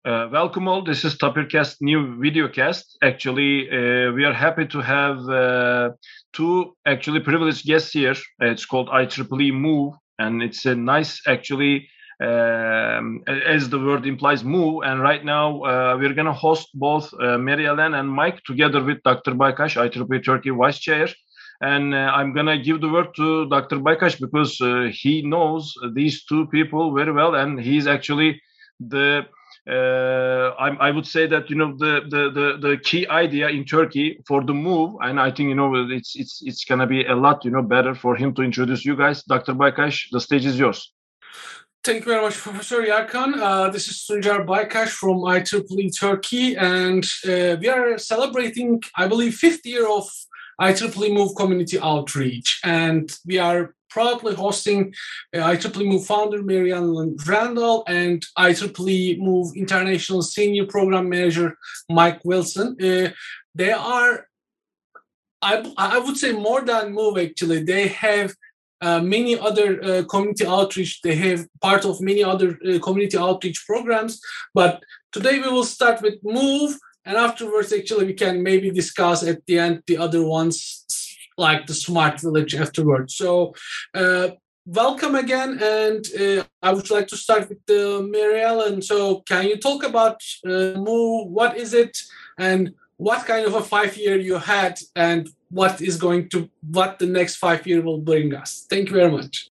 Welcome all. This is Tapircast new videocast. Actually, we are happy to have two actually privileged guests here. It's called IEEE Move, and it's a nice actually, as the word implies, move. And right now we're going to host both Mary Ellen and Mike together with Dr. Baykash, IEEE Turkey Vice Chair. And I'm going to give the word to Dr. Baykash because he knows these two people very well, and he's actually the I would say that the key idea in Turkey for the move, and I think it's gonna be a lot better for him to introduce you guys. Dr. Baykash, the stage is yours. Thank you very much, Professor Yarkan. This is Tuncer Baykash from IEEE Turkey, and we are celebrating, I believe, 5th year of IEEE Move community outreach, and we are proudly hosting IEEE Move founder Mary Ellen Randall and IEEE Move International Senior Program Manager Mike Wilson. They are, I would say, more than Move actually. They have many other community outreach. They have part of many other community outreach programs. But today we will start with Move, and afterwards, actually, we can maybe discuss at the end the other ones, like the Smart Village afterwards. So welcome again, and I would like to start with Mary Ellen. So can you talk about Move? What is it, and what kind of a 5-year you had, and what the next 5 year will bring us? Thank you very much.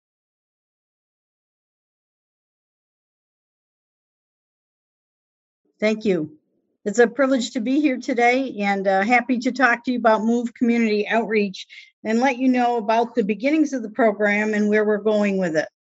Thank you. It's a privilege to be here today, and happy to talk to you about Move Community Outreach and let you know about the beginnings of the program and where we're going with it.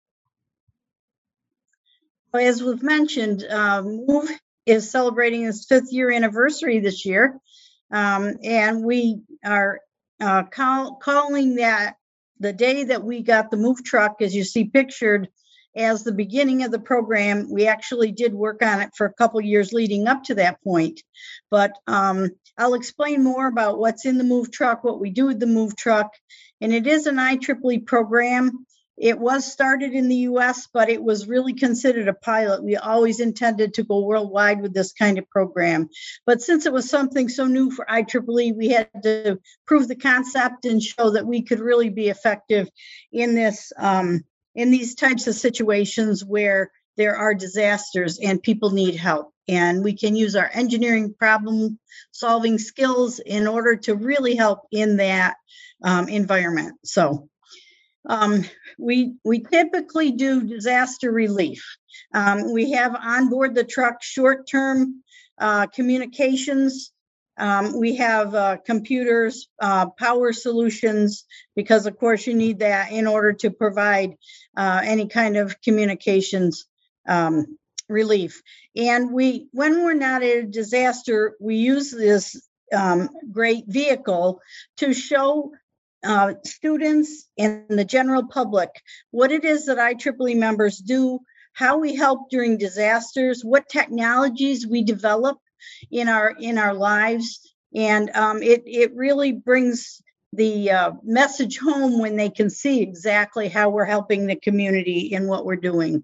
As was mentioned, Move is celebrating its 5th year anniversary this year, and we are calling that the day that we got the Move truck, as you see pictured, as the beginning of the program. We actually did work on it for a couple years leading up to that point, but I'll explain more about what's in the Move truck, what we do with the Move truck, and it is an IEEE program. It was started in the US, but it was really considered a pilot. We always intended to go worldwide with this kind of program, but since it was something so new for IEEE, we had to prove the concept and show that we could really be effective in this in these types of situations where there are disasters and people need help. And we can use our engineering problem solving skills in order to really help in that environment. So we typically do disaster relief. We have on board the truck short-term communications. We have computers, power solutions, because of course you need that in order to provide any kind of communications relief. And when we're not at a disaster, we use this great vehicle to show students and the general public what it is that IEEE members do, how we help during disasters, what technologies we develop in our lives, and it really brings the message home when they can see exactly how we're helping the community in what we're doing.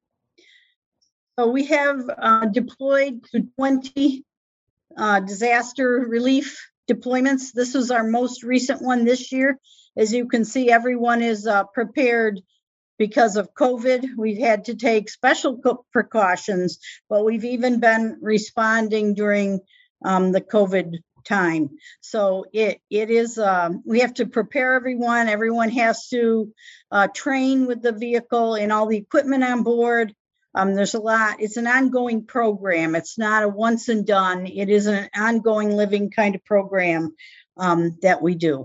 So we have deployed to 20 disaster relief deployments. This was our most recent one this year. As you can see, everyone is prepared. Because of COVID, we've had to take special precautions, but we've even been responding during the COVID time. So it is, we have to prepare everyone. Everyone has to train with the vehicle and all the equipment on board. There's a lot. It's an ongoing program. It's not a once and done. It is an ongoing living kind of program that we do.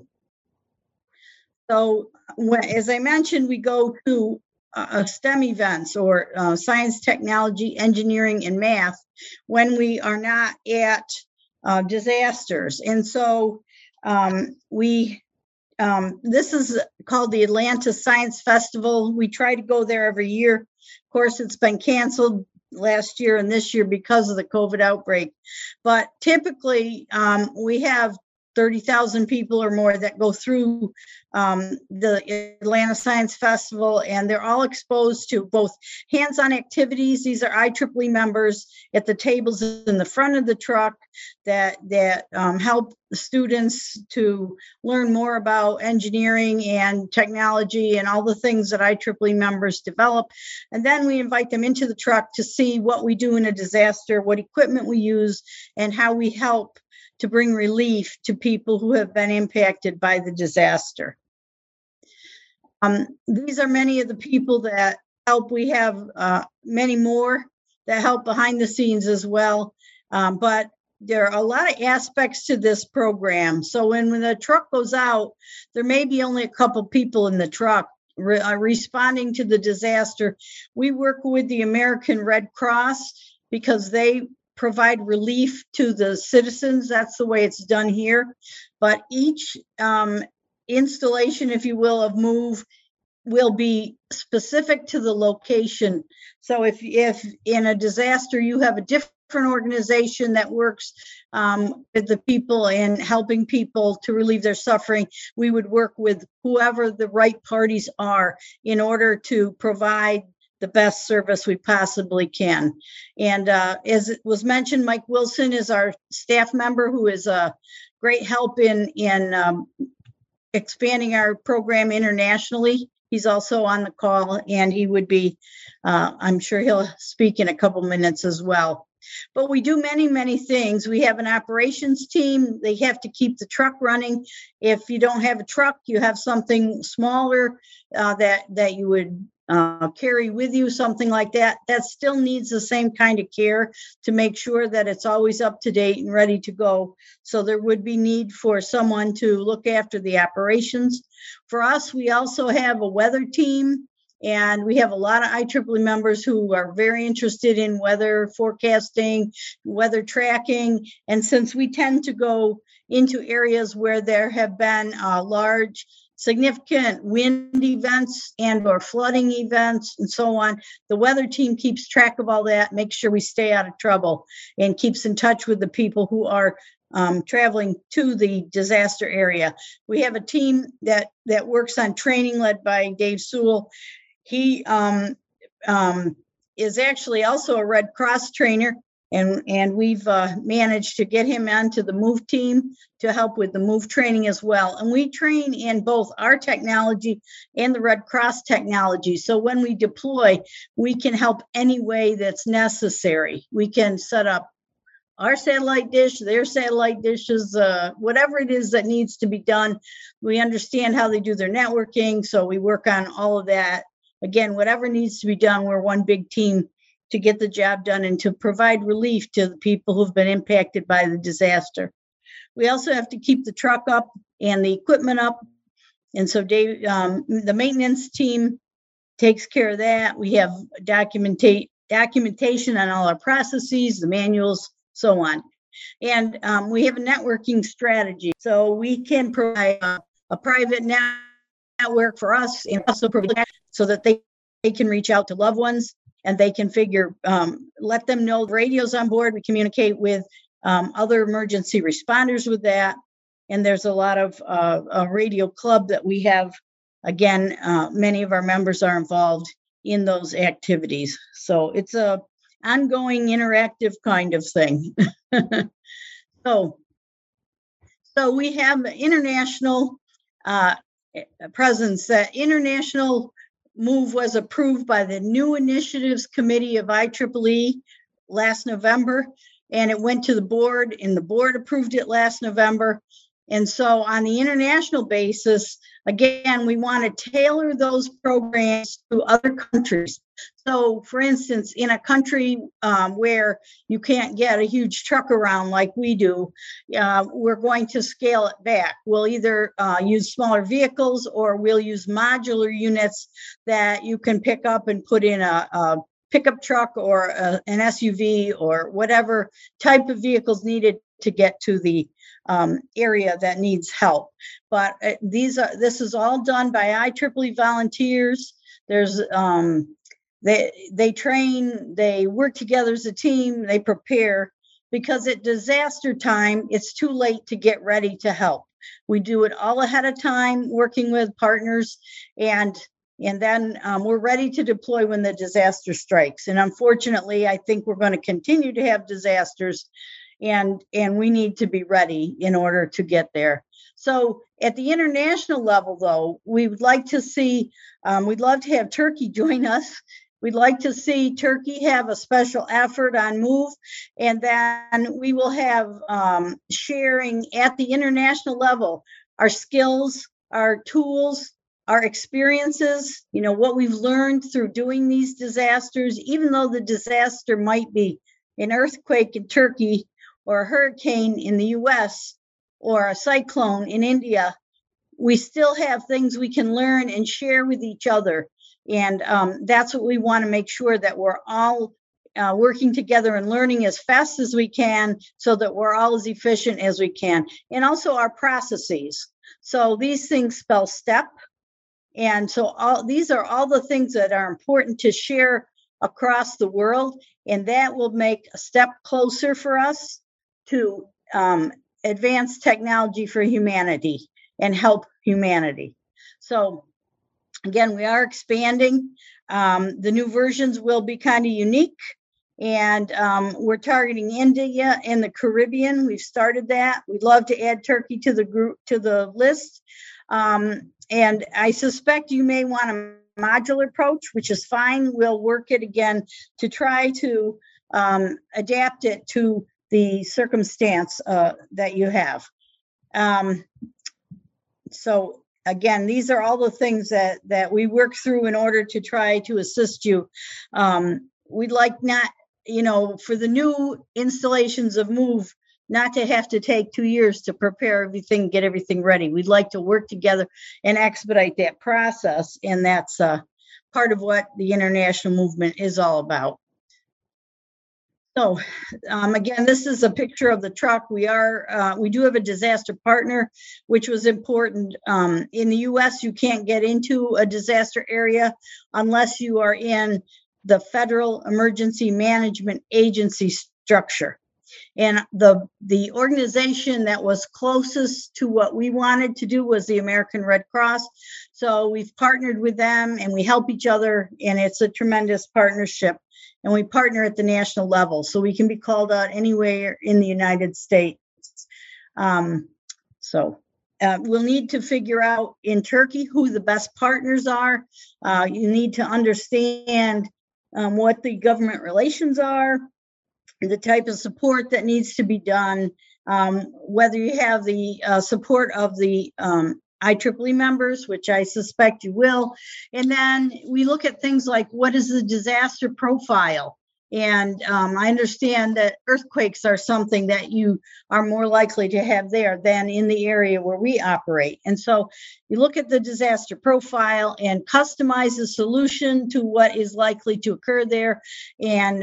So as I mentioned, we go to STEM events or science, technology, engineering, and math when we are not at disasters. And so this is called the Atlanta Science Festival. We try to go there every year. Of course, it's been canceled last year and this year because of the COVID outbreak. But typically, we have 30,000 people or more that go through the Atlanta Science Festival, and they're all exposed to both hands-on activities. These are IEEE members at the tables in the front of the truck that help the students to learn more about engineering and technology and all the things that IEEE members develop. And then we invite them into the truck to see what we do in a disaster, what equipment we use, and how we help to bring relief to people who have been impacted by the disaster. These are many of the people that help. We have many more that help behind the scenes as well. But there are a lot of aspects to this program. So when the truck goes out, there may be only a couple people in the truck responding to the disaster. We work with the American Red Cross because they provide relief to the citizens. That's the way it's done here. But each installation, if you will, of MOVE will be specific to the location. So if in a disaster you have a different organization that works with the people and helping people to relieve their suffering, we would work with whoever the right parties are in order to provide the best service we possibly can. And as it was mentioned, Mike Wilson is our staff member who is a great help in expanding our program internationally. He's also on the call, and he would be, I'm sure he'll speak in a couple minutes as well. But we do many, many things. We have an operations team. They have to keep the truck running. If you don't have a truck, you have something smaller that you would carry with you, something like that. That still needs the same kind of care to make sure that it's always up to date and ready to go. So there would be need for someone to look after the operations. For us, we also have a weather team, and we have a lot of IEEE members who are very interested in weather forecasting, weather tracking. And since we tend to go into areas where there have been large significant wind events and or flooding events and so on, the weather team keeps track of all that, makes sure we stay out of trouble, and keeps in touch with the people who are traveling to the disaster area. We have a team that works on training led by Dave Sewell. He is actually also a Red Cross trainer, and we've managed to get him onto the MOVE team to help with the MOVE training as well. And we train in both our technology and the Red Cross technology. So when we deploy, we can help any way that's necessary. We can set up our satellite dish, their satellite dishes, whatever it is that needs to be done. We understand how they do their networking, so we work on all of that. Again, whatever needs to be done, we're one big team to get the job done and to provide relief to the people who've been impacted by the disaster. We also have to keep the truck up and the equipment up. And so Dave, the maintenance team takes care of that. We have documentation on all our processes, the manuals, so on. And we have a networking strategy. So we can provide a private network for us, and also provide so that they can reach out to loved ones, and they can let them know the radio's on board. We communicate with other emergency responders with that. And there's a lot of a radio club that we have. Again, many of our members are involved in those activities. So it's a ongoing interactive kind of thing. So we have international presence. That international MOVE was approved by the New Initiatives Committee of IEEE last November, and it went to the board, and the board approved it last November. And so on the international basis, again, we want to tailor those programs to other countries. So for instance, in a country where you can't get a huge truck around like we do, we're going to scale it back. We'll either use smaller vehicles, or we'll use modular units that you can pick up and put in a pickup truck or an SUV or whatever type of vehicles needed to get to the area that needs help. But this is all done by IEEE volunteers. There's they train, they work together as a team, they prepare, because at disaster time, it's too late to get ready to help. We do it all ahead of time, working with partners, and then we're ready to deploy when the disaster strikes. And unfortunately, I think we're going to continue to have disasters, and we need to be ready in order to get there. So at the international level, though, we would like to see, we'd love to have Turkey join us. We'd like to see Turkey have a special effort on MOVE, and then we will have sharing at the international level our skills, our tools, our experiences, what we've learned through doing these disasters. Even though the disaster might be an earthquake in Turkey or a hurricane in the US or a cyclone in India, we still have things we can learn and share with each other. And that's what we want to make sure, that we're all working together and learning as fast as we can, so that we're all as efficient as we can. And also our processes. So these things spell STEP. And so these are all the things that are important to share across the world. And that will make a step closer for us to advance technology for humanity and help humanity. So again, we are expanding. The new versions will be kind of unique, and we're targeting India and the Caribbean. We've started that. We'd love to add Turkey to the group, to the list. And I suspect you may want a modular approach, which is fine. We'll work it again to try to adapt it to the circumstance that you have. So again, these are all the things that we work through in order to try to assist you. We'd like not, for the new installations of MOVE, not to have to take 2 years to prepare everything, get everything ready. We'd like to work together and expedite that process. And that's part of what the international movement is all about. So again, this is a picture of the truck. We do have a disaster partner, which was important. In the US, you can't get into a disaster area unless you are in the Federal Emergency Management Agency structure. And the organization that was closest to what we wanted to do was the American Red Cross. So we've partnered with them and we help each other, and it's a tremendous partnership. And we partner at the national level, so we can be called out anywhere in the United States. We'll need to figure out in Turkey who the best partners are. You need to understand what the government relations are, the type of support that needs to be done, whether you have the support of the IEEE members, which I suspect you will. And then we look at things like, what is the disaster profile? And I understand that earthquakes are something that you are more likely to have there than in the area where we operate. And so you look at the disaster profile and customize the solution to what is likely to occur there. And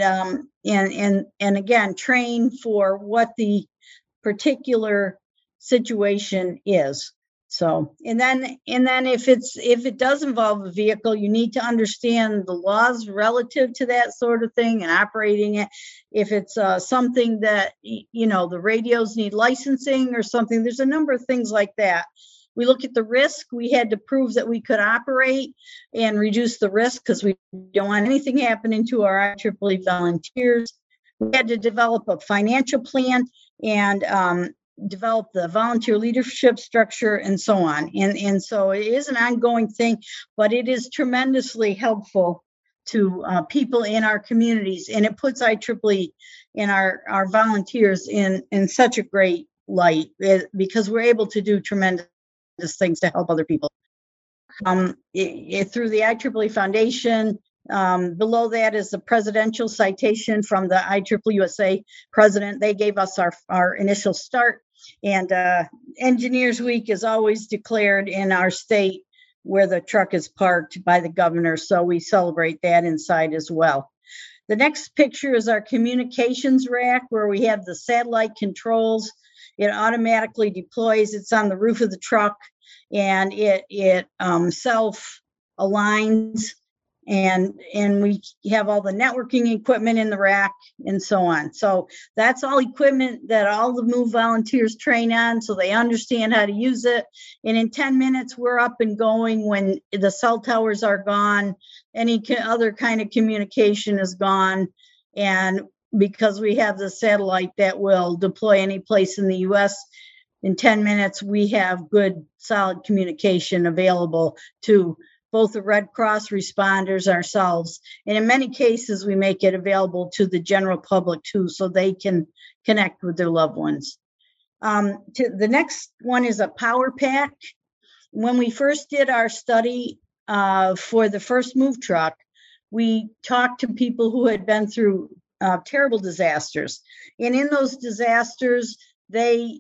again, train for what the particular situation is. So, and then if it does involve a vehicle, you need to understand the laws relative to that sort of thing and operating it. If it's something that, the radios need licensing or something, there's a number of things like that. We look at the risk. We had to prove that we could operate and reduce the risk, because we don't want anything happening to our IEEE volunteers. We had to develop a financial plan and develop the volunteer leadership structure and so on. And so it is an ongoing thing, but it is tremendously helpful to people in our communities. And it puts IEEE and our volunteers in such a great light, because we're able to do tremendous things to help other people. Through the IEEE Foundation, below that is the presidential citation from the IEEE USA president. They gave us our initial start, and Engineers Week is always declared in our state where the truck is parked by the governor. So we celebrate that inside as well. The next picture is our communications rack, where we have the satellite controls. It automatically deploys. It's on the roof of the truck, and it self aligns and we have all the networking equipment in the rack and so on. So that's all equipment that all the MOVE volunteers train on, so they understand how to use it. And in 10 minutes, we're up and going when the cell towers are gone, any other kind of communication is gone. And because we have the satellite that will deploy any place in the US, in 10 minutes, we have good, solid communication available to both the Red Cross responders, ourselves, and in many cases, we make it available to the general public too, so they can connect with their loved ones. The next one is a power pack. When we first did our study for the first MOVE truck, we talked to people who had been through terrible disasters. And in those disasters, they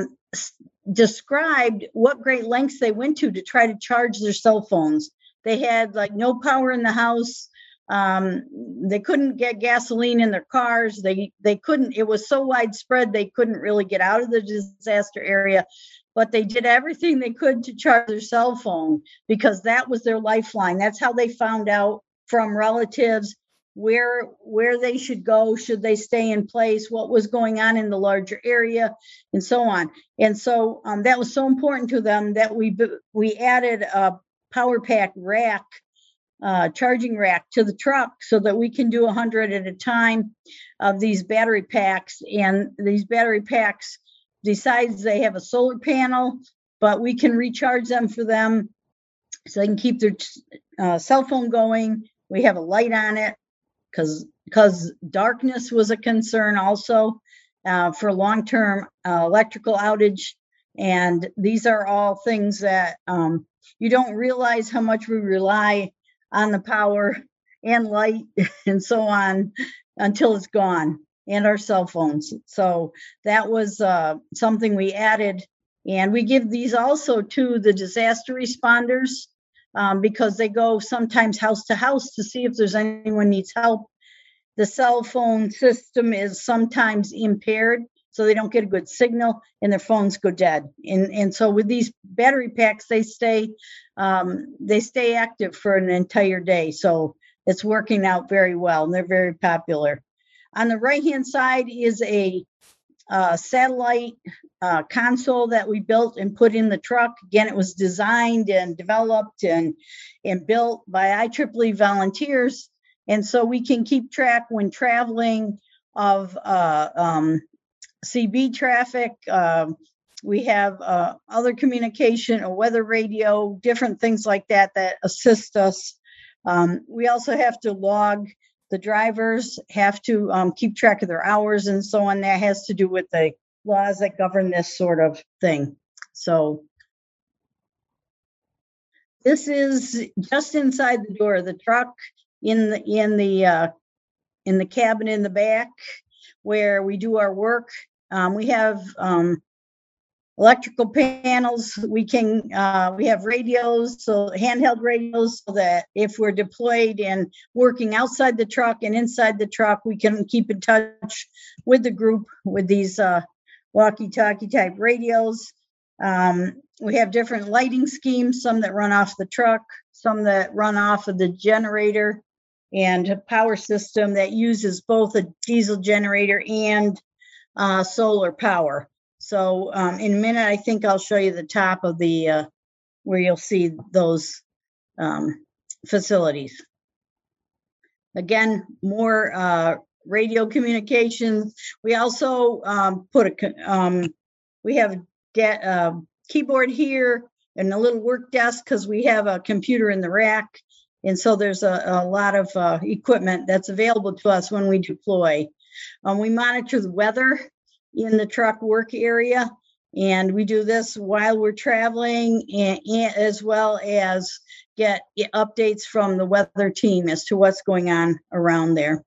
described what great lengths they went to try to charge their cell phones. They had like no power in the house. They couldn't get gasoline in their cars. They couldn't, it was so widespread, they couldn't really get out of the disaster area, but they did everything they could to charge their cell phone because that was their lifeline. That's how they found out from relatives where they should go, should they stay in place, what was going on in the larger area, and so on. And so that was so important to them that we added a power pack rack, charging rack to the truck so that we can do 100 at a time of these battery packs. And these battery packs, besides they have a solar panel, but we can recharge them for them so they can keep their cell phone going. We have a light on it because darkness was a concern also for long-term electrical outage. And these are all things that you don't realize how much we rely on the power and light and so on until it's gone, and our cell phones. So that was something we added. And we give these also to the disaster responders because they go sometimes house to house to see if there's anyone needs help. The cell phone system is sometimes impaired, so they don't get a good signal and their phones go dead. And so with these battery packs, they stay active for an entire day. So it's working out very well, and they're very popular. On the right-hand side is a satellite console that we built and put in the truck. Again, it was designed and developed and built by IEEE volunteers. And so we can keep track when traveling of CB traffic. We have other communication, a weather radio, different things like that assist us. We also have to log, the drivers have to keep track of their hours and so on. That has to do with the laws that govern this sort of thing. So this is just inside the door of the truck in the cabin in the back where we do our work. We have electrical panels. We have radios, so handheld radios, so that if we're deployed and working outside the truck and inside the truck, we can keep in touch with the group with these walkie-talkie type radios. We have different lighting schemes, some that run off the truck, some that run off of the generator, and a power system that uses both a diesel generator and solar power. So in a minute, I think I'll show you the top of the where you'll see those facilities. Again, more radio communications. We also we have a keyboard here and a little work desk because we have a computer in the rack. And so there's a lot of equipment that's available to us when we deploy. We monitor the weather in the truck work area, and we do this while we're traveling, and as well as get updates from the weather team as to what's going on around there.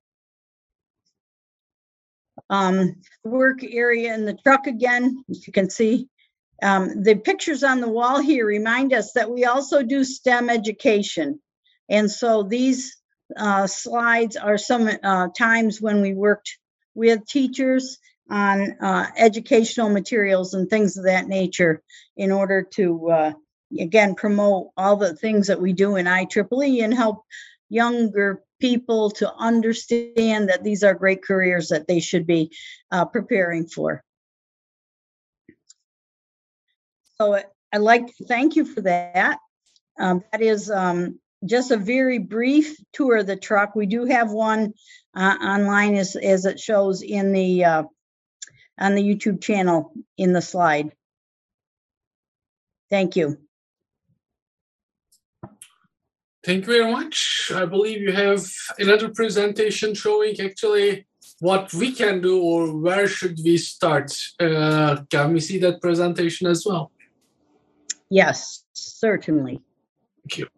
Work area in the truck again, as you can see. The pictures on the wall here remind us that we also do STEM education. And so these slides are some times when we worked with teachers on educational materials and things of that nature in order to, again, promote all the things that we do in IEEE and help younger people to understand that these are great careers that they should be preparing for. So I'd like to thank you for that. That is just a very brief tour of the truck. We do have one online as it shows in the on the YouTube channel in the slide. Thank you. Thank you very much. I believe you have another presentation showing actually what we can do or where should we start. Can we see that presentation as well? Yes, certainly. Thank you.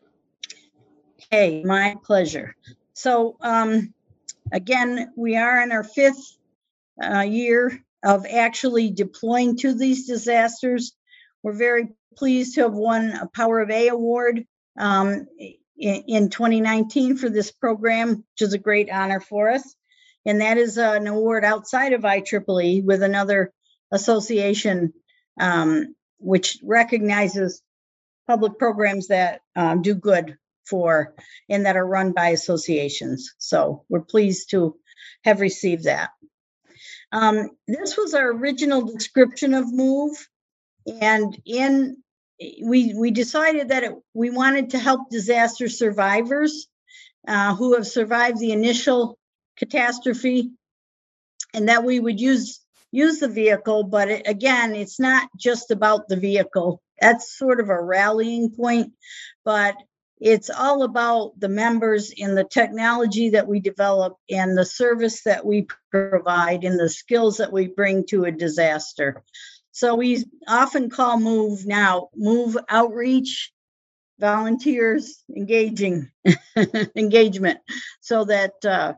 Okay, my pleasure. So again, we are in our 5th year of actually deploying to these disasters. We're very pleased to have won a Power of A award in 2019 for this program, which is a great honor for us. And that is an award outside of IEEE with another association which recognizes public programs that do good for and that are run by associations. So we're pleased to have received that. This was our original description of MOVE, and we decided that we wanted to help disaster survivors who have survived the initial catastrophe, and that we would use the vehicle. But again, it's not just about the vehicle. That's sort of a rallying point, but it's all about the members and the technology that we develop and the service that we provide and the skills that we bring to a disaster. So we often call MOVE now MOVE Outreach, Volunteers Engagement, so that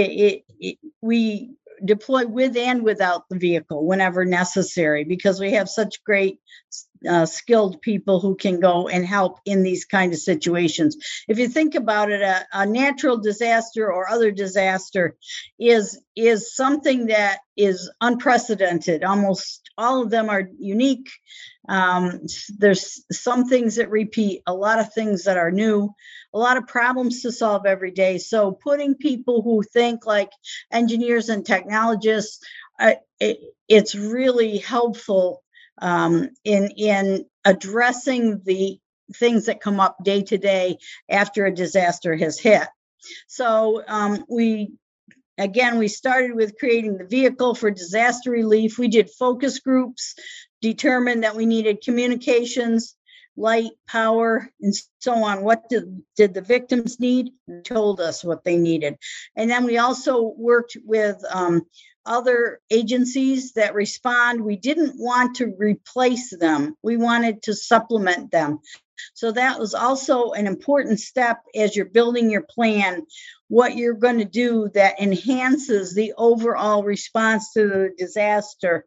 we deploy with and without the vehicle whenever necessary, because we have such great skilled people who can go and help in these kind of situations. If you think about it, a natural disaster or other disaster is something that is unprecedented. Almost all of them are unique. There's some things that repeat, a lot of things that are new, a lot of problems to solve every day. So putting people who think like engineers and technologists, it's really helpful in addressing the things that come up day to day after a disaster has hit. So we started with creating the vehicle for disaster relief. We did focus groups, determined that we needed communications, light, power, and so on. What did the victims need? And told us what they needed. And then we also worked with other agencies that respond. We didn't want to replace them. We wanted to supplement them. So that was also an important step as you're building your plan, what you're going to do that enhances the overall response to the disaster.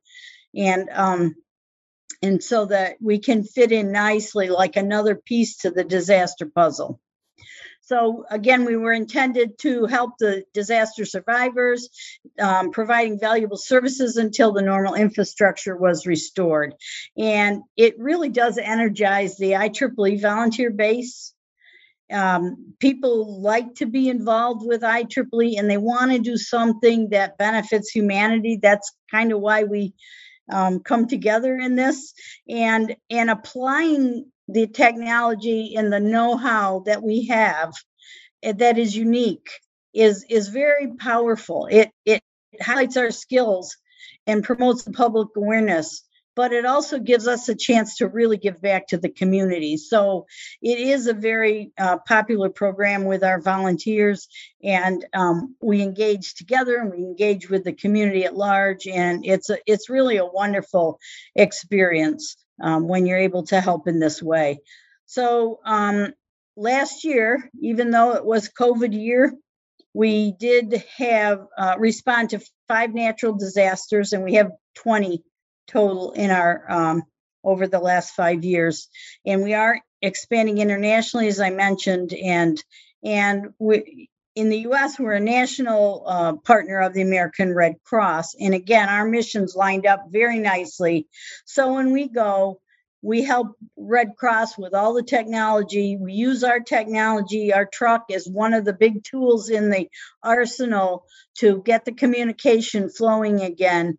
And so that we can fit in nicely like another piece to the disaster puzzle. So again, we were intended to help the disaster survivors, providing valuable services until the normal infrastructure was restored. And it really does energize the IEEE volunteer base. People like to be involved with IEEE and they want to do something that benefits humanity. That's kind of why we come together in this, and applying the technology and the know-how that we have that is unique is very powerful. It highlights our skills and promotes the public awareness, but it also gives us a chance to really give back to the community. So it is a very popular program with our volunteers, and we engage together and we engage with the community at large, and it's really a wonderful experience when you're able to help in this way. So last year, even though it was COVID year, we did have respond to 5 natural disasters, and we have 20 total in our over the last 5 years, and we are expanding internationally, as I mentioned, and we in the U.S. we're a national partner of the American Red Cross, and again our missions lined up very nicely. So when we go, We help Red Cross with all the technology. We use our technology. Our truck is one of the big tools in the arsenal to get the communication flowing again.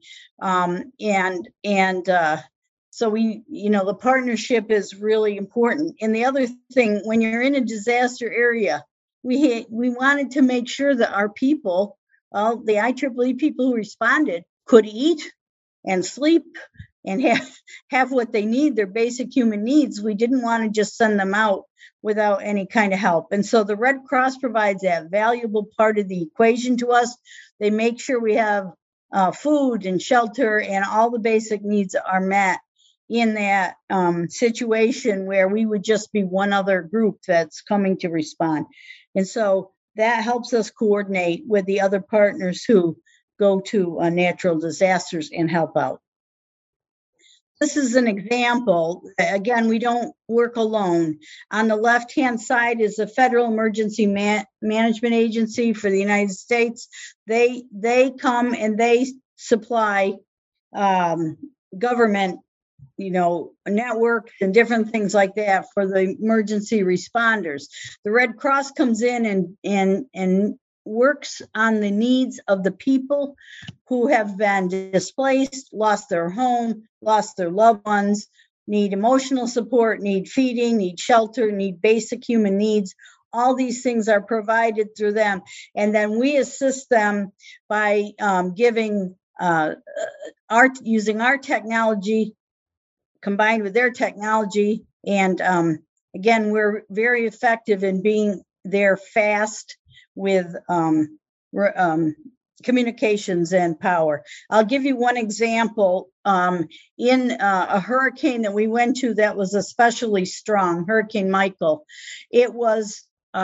So the partnership is really important. And the other thing, when you're in a disaster area, we wanted to make sure that our people, the IEEE people who responded, could eat and sleep and have what they need, their basic human needs. We didn't want to just send them out without any kind of help. And so the Red Cross provides that valuable part of the equation to us. They make sure we have food and shelter and all the basic needs are met in that situation where we would just be one other group that's coming to respond. And so that helps us coordinate with the other partners who go to natural disasters and help out. This is an example. Again, we don't work alone. On the left-hand side is the Federal Emergency Management Agency for the United States. They come and they supply government, networks and different things like that for the emergency responders. The Red Cross comes in and works on the needs of the people who have been displaced, lost their home, lost their loved ones, need emotional support, need feeding, need shelter, need basic human needs. All these things are provided through them. And then we assist them by giving using our technology combined with their technology. And again, we're very effective in being there fast with communications and power. I'll give you one example. In a hurricane that we went to that was especially strong, Hurricane Michael, it was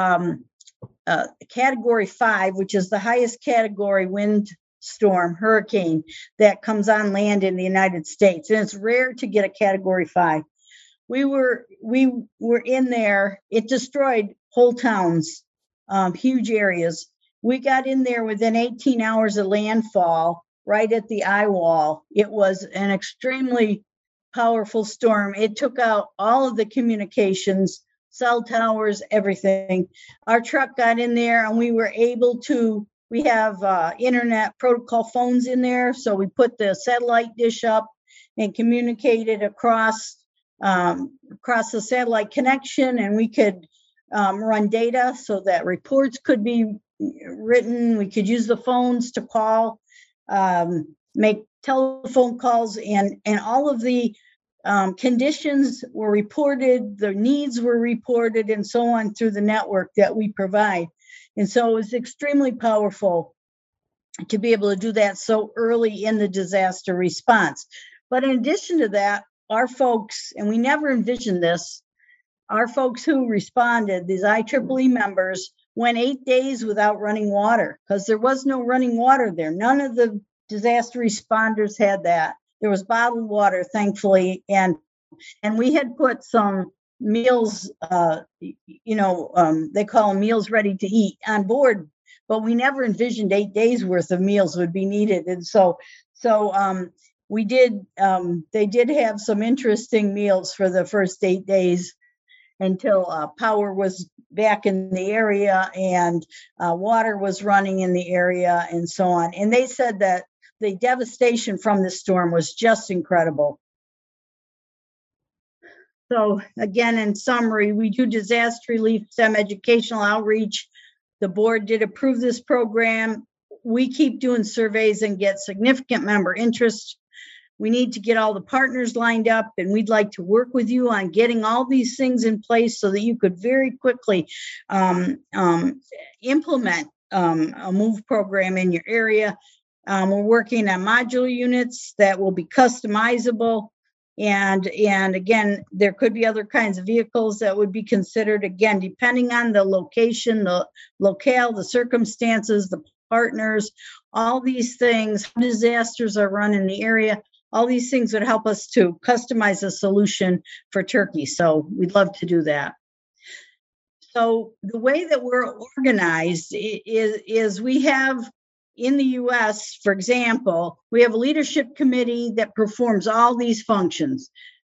Category 5, which is the highest category wind storm hurricane that comes on land in the United States. And it's rare to get a Category 5. We were in there. It destroyed whole towns, huge areas. We got in there within 18 hours of landfall, right at the eye wall. It was an extremely powerful storm. It took out all of the communications, cell towers, everything. Our truck got in there and we were able to, we have internet protocol phones in there. So we put the satellite dish up and communicated across the satellite connection, and we could run data so that reports could be written. We could use the phones to call, make telephone calls, and all of the conditions were reported, the needs were reported, and so on through the network that we provide. And so it was extremely powerful to be able to do that so early in the disaster response. But in addition to that, our folks, and we never envisioned this, our folks who responded, these IEEE members, went 8 days without running water because there was no running water there. None of the disaster responders had that. There was bottled water, thankfully, and we had put some meals, they call them meals ready to eat on board, but we never envisioned 8 days worth of meals would be needed. And so we did, they did have some interesting meals for the first 8 days until power was back in the area and water was running in the area and so on. And they said that the devastation from the storm was just incredible. So again, in summary, we do disaster relief, STEM educational outreach. The board did approve this program. We keep doing surveys and get significant member interest. We need to get all the partners lined up, and we'd like to work with you on getting all these things in place so that you could very quickly implement a MOVE program in your area. We're working on modular units that will be customizable. And again, there could be other kinds of vehicles that would be considered, again, depending on the location, the locale, the circumstances, the partners, all these things, how disasters are run in the area. All these things would help us to customize a solution for Turkey. So we'd love to do that. So the way that we're organized is we have in the US, for example, we have a leadership committee that performs all these functions.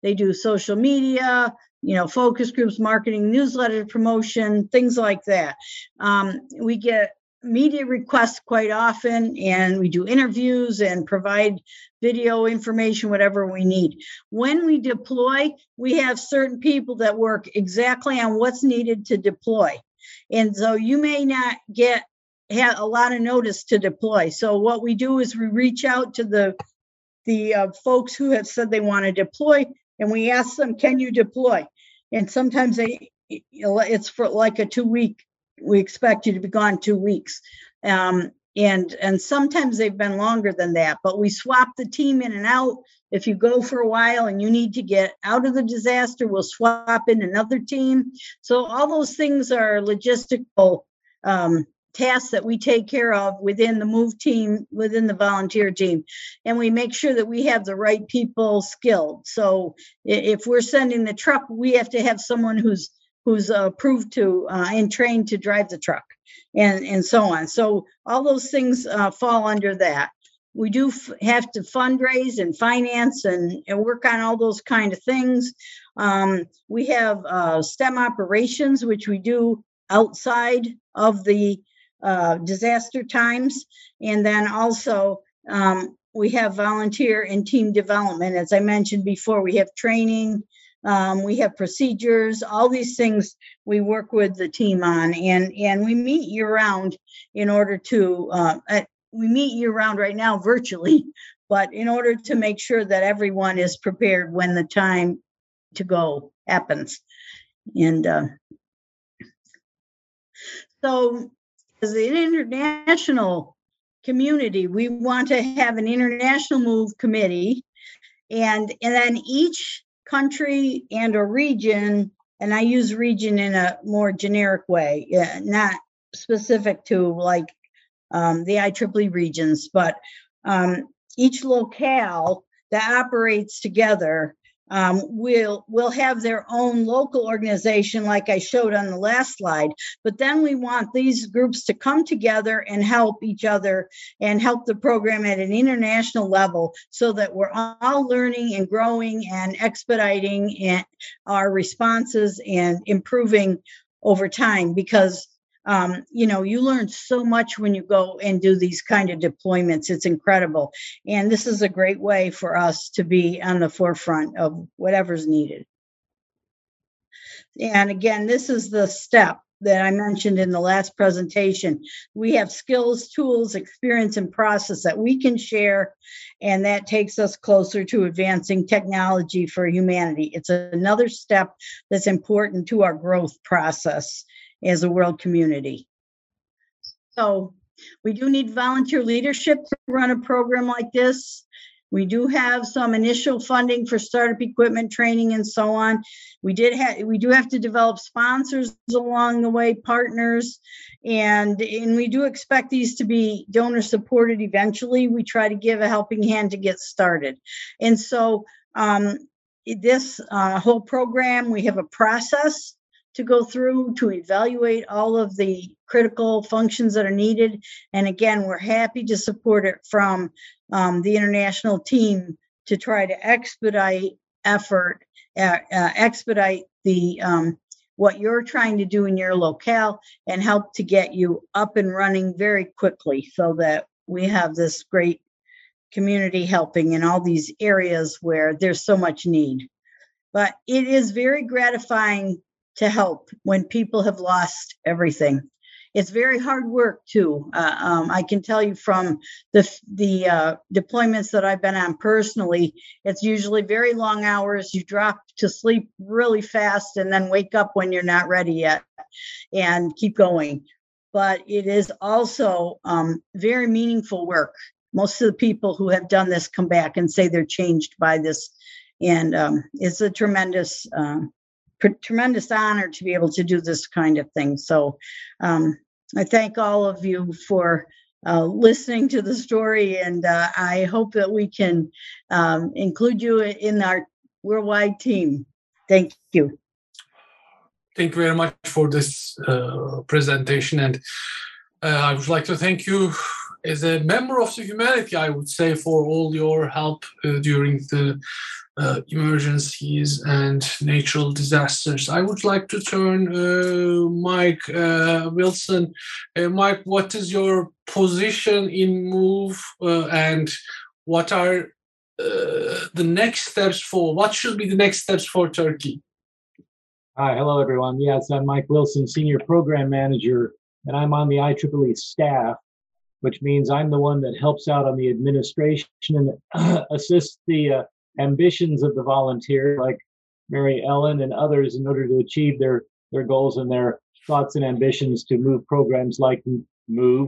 They do social media, focus groups, marketing, newsletter promotion, things like that. We get media requests quite often, and we do interviews and provide video information, whatever we need. When we deploy, we have certain people that work exactly on what's needed to deploy. And so you may not have a lot of notice to deploy. So what we do is we reach out to the folks who have said they want to deploy, and we ask them, can you deploy? And sometimes it's for like a 2-week. We expect you to be gone 2 weeks. And sometimes they've been longer than that, but we swap the team in and out. If you go for a while and you need to get out of the disaster, we'll swap in another team. So all those things are logistical tasks that we take care of within the MOVE team, within the volunteer team. And we make sure that we have the right people skilled. So if we're sending the truck, we have to have someone who's approved to and trained to drive the truck, and so on. So all those things fall under that. We do have to fundraise and finance and work on all those kind of things. We have STEM operations, which we do outside of the disaster times. And then also we have volunteer and team development. As I mentioned before, we have training. We have procedures, all these things we work with the team on, and we meet year-round in order to, we meet year-round right now virtually, but in order to make sure that everyone is prepared when the time to go happens. And so as an international community, we want to have an international MOVE committee, and then each country and a region, and I use region in a more generic way, not specific to like the IEEE regions, but each locale that operates together will have their own local organization, like I showed on the last slide. But then we want these groups to come together and help each other and help the program at an international level, so that we're all learning and growing and expediting our responses and improving over time. Because you learn so much when you go and do these kind of deployments. It's incredible. And this is a great way for us to be on the forefront of whatever's needed. And again, this is the step that I mentioned in the last presentation. We have skills, tools, experience, and process that we can share, and that takes us closer to advancing technology for humanity. It's another step that's important to our growth process as a world community. So we do need volunteer leadership to run a program like this. We do have some initial funding for startup equipment training and so on. We do have to develop sponsors along the way, partners, and we do expect these to be donor supported eventually. We try to give a helping hand to get started. And so this whole program, we have a process to go through to evaluate all of the critical functions that are needed. And again, we're happy to support it from the international team to try to expedite the what you're trying to do in your locale and help to get you up and running very quickly, so that we have this great community helping in all these areas where there's so much need. But it is very gratifying to help when people have lost everything. It's very hard work too. I can tell you from the deployments that I've been on personally, it's usually very long hours. You drop to sleep really fast and then wake up when you're not ready yet and keep going. But it is also very meaningful work. Most of the people who have done this come back and say they're changed by this. And it's a tremendous honor to be able to do this kind of thing. So I thank all of you for listening to the story, and I hope that we can include you in our worldwide team. Thank you. Thank you very much for this presentation. And I would like to thank you as a member of the humanity, I would say, for all your help during the emergencies and natural disasters. I would like to turn Mike Wilson. Mike, what is your position in MOVE and what are the next steps what should be the next steps for Turkey? Hi, hello everyone. Yes, I'm Mike Wilson, Senior Program Manager, and I'm on the IEEE staff, which means I'm the one that helps out on the administration and assists the ambitions of the volunteers like Mary Ellen and others in order to achieve their goals and their thoughts and ambitions to move programs like MOVE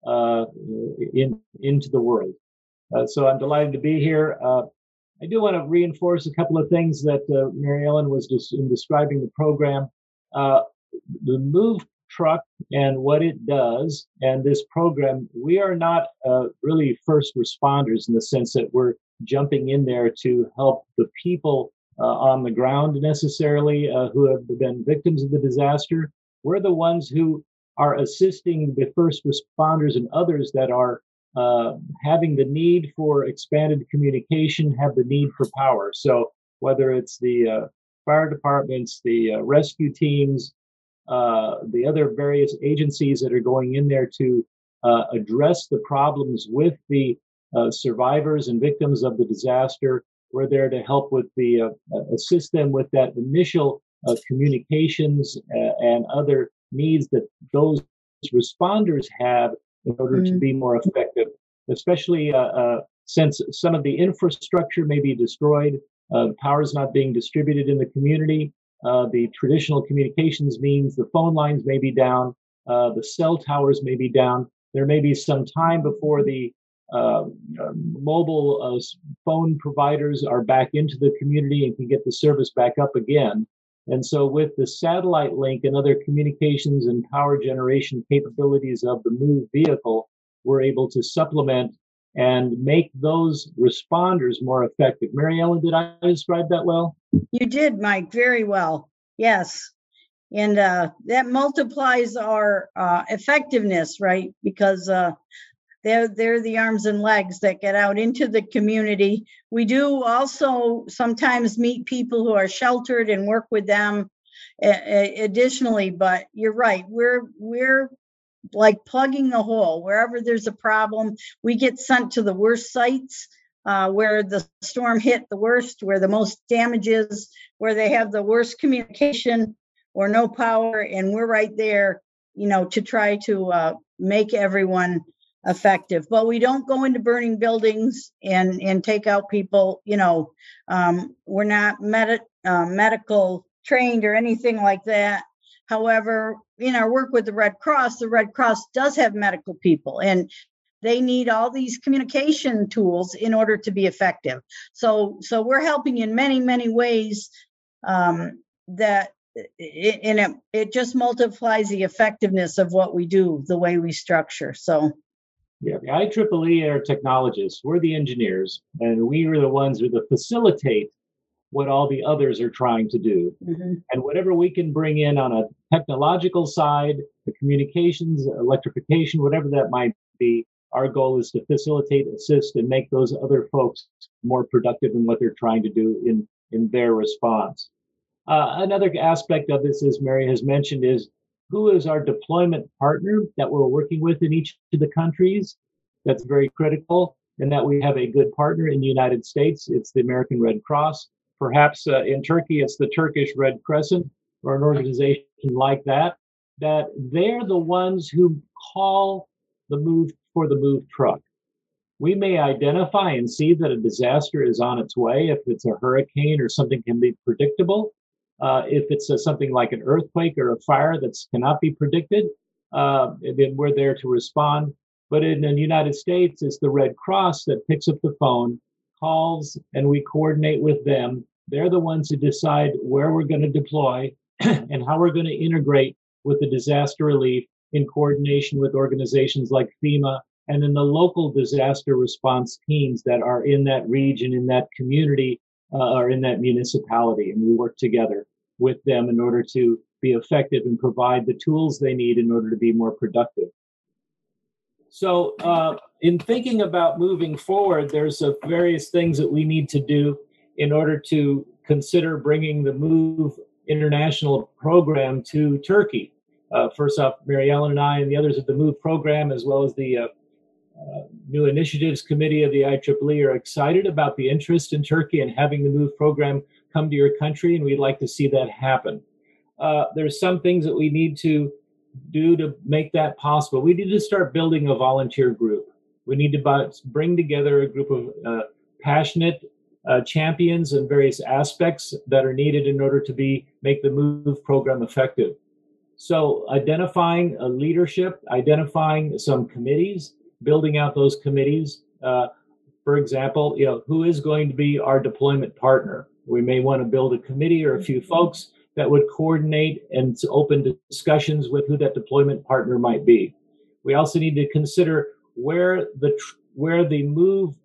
into the world. So I'm delighted to be here. I do want to reinforce a couple of things that Mary Ellen was just in describing the program. The MOVE truck and what it does, and this program, we are not really first responders in the sense that we're jumping in there to help the people on the ground necessarily who have been victims of the disaster. We're the ones who are assisting the first responders and others that are having the need for expanded communication, have the need for power. So whether it's the fire departments, the rescue teams, the other various agencies that are going in there to address the problems with the survivors and victims of the disaster, we're there to help with assist them with that initial communications and other needs that those responders have in order to be more effective, especially since some of the infrastructure may be destroyed, power is not being distributed in the community, the traditional communications means the phone lines may be down, the cell towers may be down. There may be some time before the mobile phone providers are back into the community and can get the service back up again. And so with the satellite link and other communications and power generation capabilities of the MOVE vehicle, we're able to supplement and make those responders more effective. Mary Ellen, did I describe that well? You did, Mike, very well. Yes. And that multiplies our effectiveness, right? Because they're the arms and legs that get out into the community. We do also sometimes meet people who are sheltered and work with them additionally, but you're right. We're like plugging the hole. Wherever there's a problem, we get sent to the worst sites where the storm hit the worst, where the most damage is, where they have the worst communication or no power. And we're right there, to try to make everyone effective. But we don't go into burning buildings and take out people. We're not medical trained or anything like that. However, in our work with the Red Cross does have medical people, and they need all these communication tools in order to be effective. So we're helping in many, many ways that it just multiplies the effectiveness of what we do, the way we structure. So. Yeah, the IEEE are technologists. We're the engineers, and we are the ones who facilitate what all the others are trying to do. Mm-hmm. And whatever we can bring in on a technological side, the communications, electrification, whatever that might be, our goal is to facilitate, assist, and make those other folks more productive in what they're trying to do in their response. Another aspect of this, as Mary has mentioned, is who is our deployment partner that we're working with in each of the countries. That's very critical, and that we have a good partner in the United States. It's the American Red Cross. Perhaps in Turkey, it's the Turkish Red Crescent or an organization like that, that they're the ones who call the MOVE for the MOVE truck. We may identify and see that a disaster is on its way if it's a hurricane or something can be predictable. If it's something like an earthquake or a fire that cannot be predicted, then we're there to respond. But in the United States, it's the Red Cross that picks up the phone, calls, and we coordinate with them. They're the ones who decide where we're going to deploy and how we're going to integrate with the disaster relief in coordination with organizations like FEMA and then the local disaster response teams that are in that region, in that community, or in that municipality. And we work together with them in order to be effective and provide the tools they need in order to be more productive. So in thinking about moving forward, there's various things that we need to do. in order to consider bringing the MOVE international program to Turkey. First off, Mary Ellen and I and the others of the MOVE program, as well as the New Initiatives Committee of the IEEE, are excited about the interest in Turkey and having the MOVE program come to your country, and we'd like to see that happen. There's some things that we need to do to make that possible. We need to start building a volunteer group. We need to bring together a group of passionate champions in various aspects that are needed in order to make the MOVE program effective. So identifying a leadership, identifying some committees, building out those committees. For example, who is going to be our deployment partner? We may want to build a committee or a few folks that would coordinate and open discussions with who that deployment partner might be. We also need to consider where the MOVE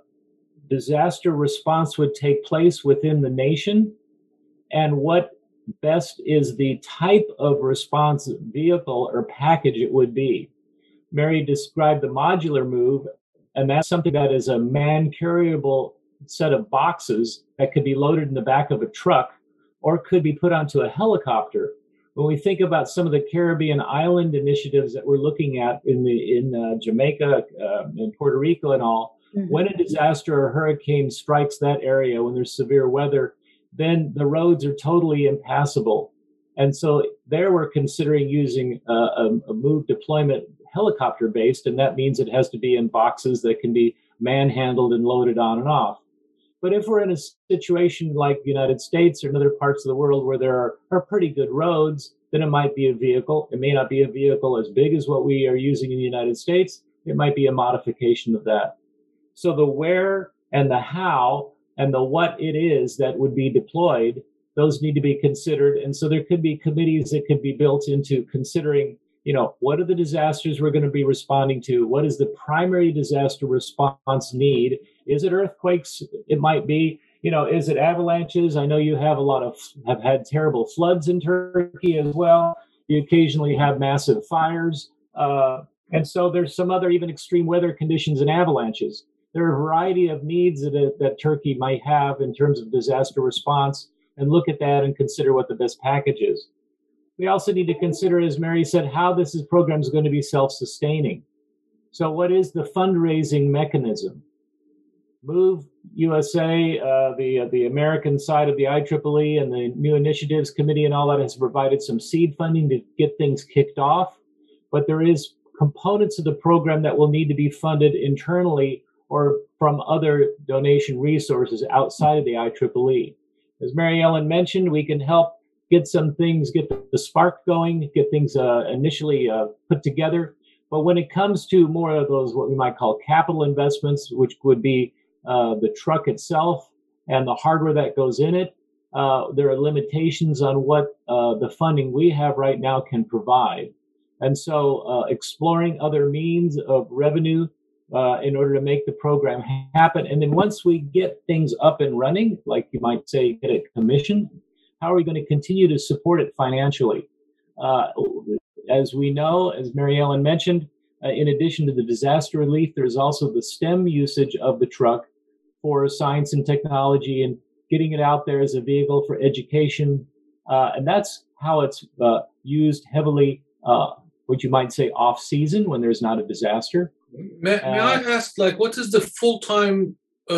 disaster response would take place within the nation, and what best is the type of response vehicle or package it would be. Mary described the modular MOVE, and that's something that is a man-carryable set of boxes that could be loaded in the back of a truck or could be put onto a helicopter. When we think about some of the Caribbean island initiatives that we're looking at in Jamaica and Puerto Rico and all, when a disaster or hurricane strikes that area, when there's severe weather, then the roads are totally impassable. And so there we're considering using a MOVE deployment helicopter-based, and that means it has to be in boxes that can be manhandled and loaded on and off. But if we're in a situation like the United States or in other parts of the world where there are pretty good roads, then it might be a vehicle. It may not be a vehicle as big as what we are using in the United States. It might be a modification of that. So the where and the how and the what it is that would be deployed, those need to be considered. And so there could be committees that could be built into considering, what are the disasters we're going to be responding to? What is the primary disaster response need? Is it earthquakes? It might be. Is it avalanches? I know you have have had terrible floods in Turkey as well. You occasionally have massive fires. And so there's some other even extreme weather conditions and avalanches. There are a variety of needs that Turkey might have in terms of disaster response, and look at that and consider what the best package is. We also need to consider, as Mary said, how this program is going to be self-sustaining. So what is the fundraising mechanism? MOVE USA, the American side of the IEEE and the New Initiatives Committee and all that has provided some seed funding to get things kicked off, but there is components of the program that will need to be funded internally or from other donation resources outside of the IEEE. As Mary Ellen mentioned, we can help get the spark going, get things initially put together. But when it comes to more of those, what we might call capital investments, which would be the truck itself and the hardware that goes in it, there are limitations on what the funding we have right now can provide. And so exploring other means of revenue in order to make the program happen. And then once we get things up and running, like you might say, get it commissioned, how are we going to continue to support it financially? As we know, as Mary Ellen mentioned, in addition to the disaster relief, there's also the STEM usage of the truck for science and technology and getting it out there as a vehicle for education. And that's how it's used heavily, what you might say off-season when there's not a disaster. May I ask, what is the full-time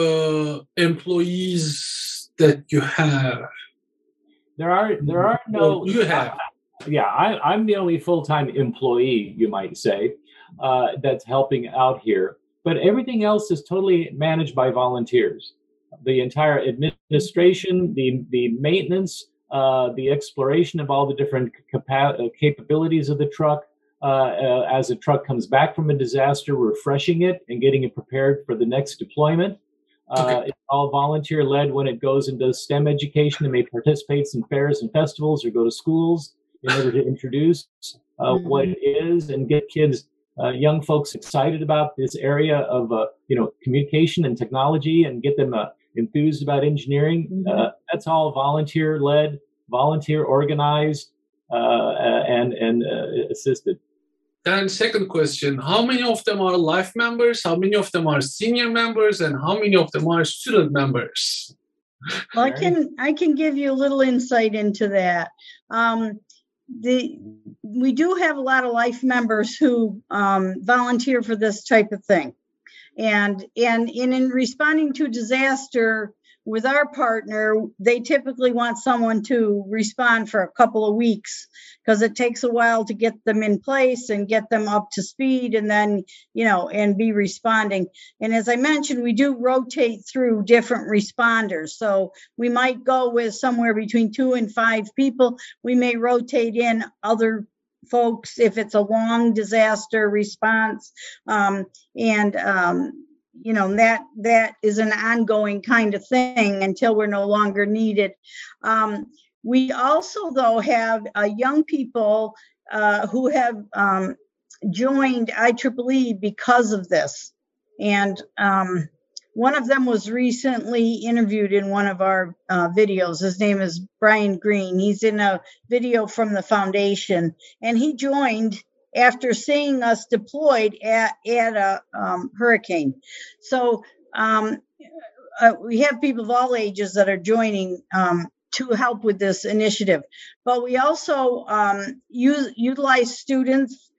employees that you have? There are no. You have. I'm the only full-time employee, you might say, that's helping out here. But everything else is totally managed by volunteers. The entire administration, the maintenance, the exploration of all the different capabilities of the truck. As a truck comes back from a disaster, refreshing it and getting it prepared for the next deployment. It's all volunteer-led when it goes and does STEM education. It may participate in fairs and festivals or go to schools in order to introduce what it is and get kids, young folks excited about this area of communication and technology and get them enthused about engineering. That's all volunteer-led, volunteer-organized, and assisted. And second question, how many of them are life members, how many of them are senior members, and how many of them are student members? Well, I can give you a little insight into that. We do have a lot of life members who volunteer for this type of thing, and in responding to disaster with our partner, they typically want someone to respond for a couple of weeks because it takes a while to get them in place and get them up to speed, and then and be responding. And as I mentioned, we do rotate through different responders, so we might go with somewhere between 2 and 5 people. We may rotate in other folks if it's a long disaster response, that is an ongoing kind of thing until we're no longer needed. We also, though, have young people who have joined IEEE because of this. And one of them was recently interviewed in one of our videos. His name is Brian Green. He's in a video from the foundation, and he joined after seeing us deployed at a hurricane. So we have people of all ages that are joining to help with this initiative. But we also utilize students,